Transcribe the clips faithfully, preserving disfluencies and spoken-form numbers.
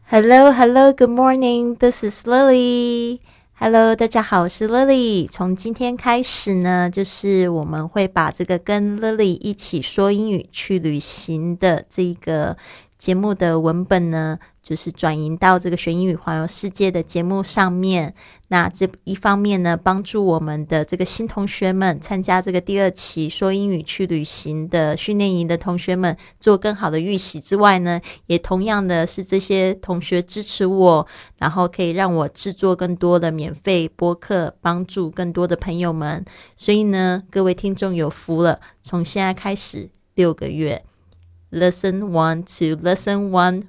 Hello, hello, good morning. This is Lily. Hello, 大家好，我是 Lily。从今天开始呢，就是我们会把这个跟 Lily 一起说英语去旅行的这个节目的文本呢，就是转移到这个学英语环游世界的节目上面。那这一方面呢，帮助我们的这个新同学们参加这个第二期说英语去旅行的训练营的同学们做更好的预习之外呢，也同样的是这些同学支持我，然后可以让我制作更多的免费播客，帮助更多的朋友们。所以呢，各位听众有福了，从现在开始六个月 Lesson one to Lesson one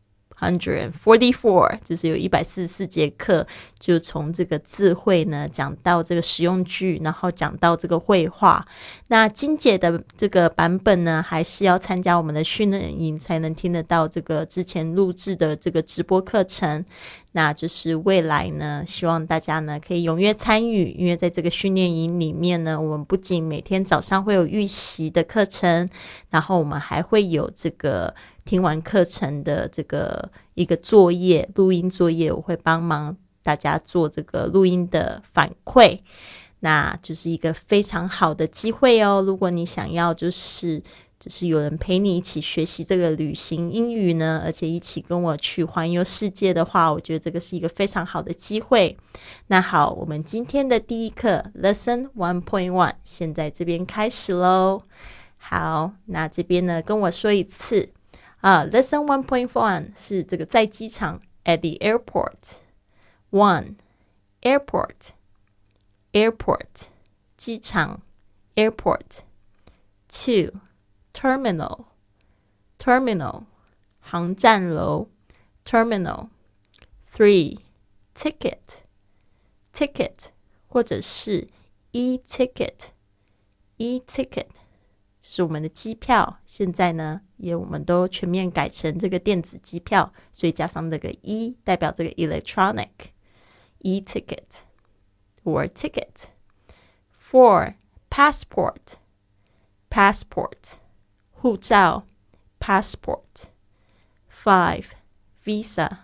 forty-four 就是有一百四十四节课，就从这个字汇呢讲到这个实用句，然后讲到这个绘画。那精简的这个版本呢，还是要参加我们的训练营才能听得到这个之前录制的这个直播课程。那就是未来呢，希望大家呢可以踊跃参与，因为在这个训练营里面呢，我们不仅每天早上会有预习的课程，然后我们还会有这个听完课程的这个一个作业，录音作业，我会帮忙大家做这个录音的反馈。那就是一个非常好的机会哦，如果你想要就是就是有人陪你一起学习这个旅行英语呢，而且一起跟我去环游世界的话，我觉得这个是一个非常好的机会。那好，我们今天的第一课 Lesson one point one 现在这边开始咯。好，那这边呢跟我说一次啊、uh, Lesson one point one 是这个在机场 at the airport. one airport airport 机场 airport. two terminal terminal 航站楼 terminal. three ticket ticket 或者是 e-ticket e-ticket 就是我们的机票，现在呢也我们都全面改成这个电子机票，所以加上这个 e 代表这个 electronic e-ticket or ticket. four passport passport 护照 passport. five visa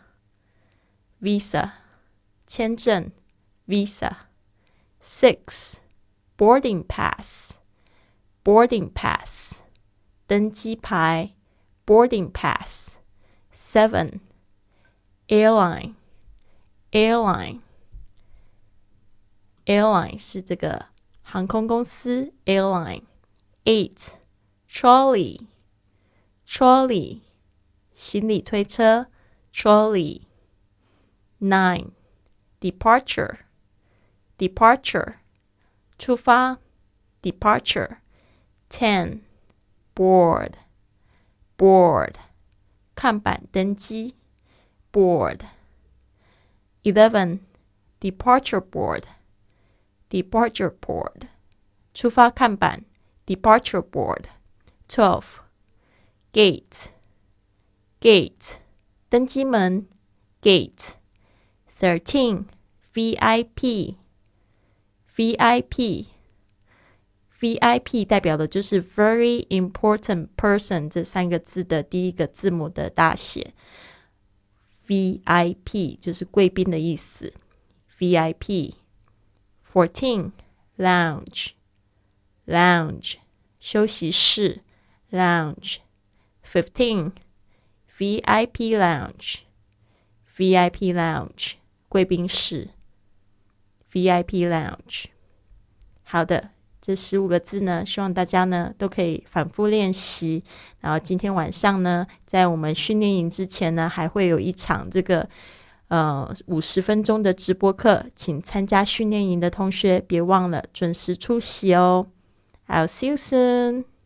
visa 签证 visa. six boarding pass boarding pass 登机牌 boarding pass. seven airline airline airline 是这个航空公司 airline. eight trolley trolley 行李推车 trolley. nine departure departure 出发 departure. ten board board 看板登机 board. eleven departure board departure board 出发看板 departure board. twelve gate gate 登机门 gate. thirteen VIP VIP V I P 代表的就是 very important person 这三个字的第一个字母的大写 V I P 就是贵宾的意思 V I P. fourteen lounge lounge 休息室 lounge. fifteen V I P lounge V I P lounge 贵宾室 V I P lounge. 好的，这十五个字呢，希望大家呢都可以反复练习。然后今天晚上呢，在我们训练营之前呢，还会有一场这个呃五十分钟的直播课，请参加训练营的同学别忘了准时出席哦。I'll see you soon.